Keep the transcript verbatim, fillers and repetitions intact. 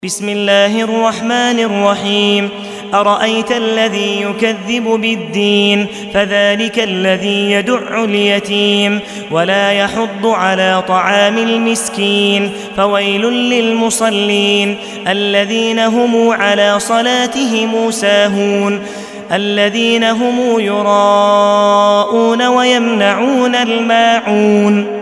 بسم الله الرحمن الرحيم أرأيت الذي يكذب بالدين فذلك الذي يدع اليتيم ولا يحض على طعام المسكين فويل للمصلين الذين هم على صلاتهم ساهون الذين هم يراءون ويمنعون الماعون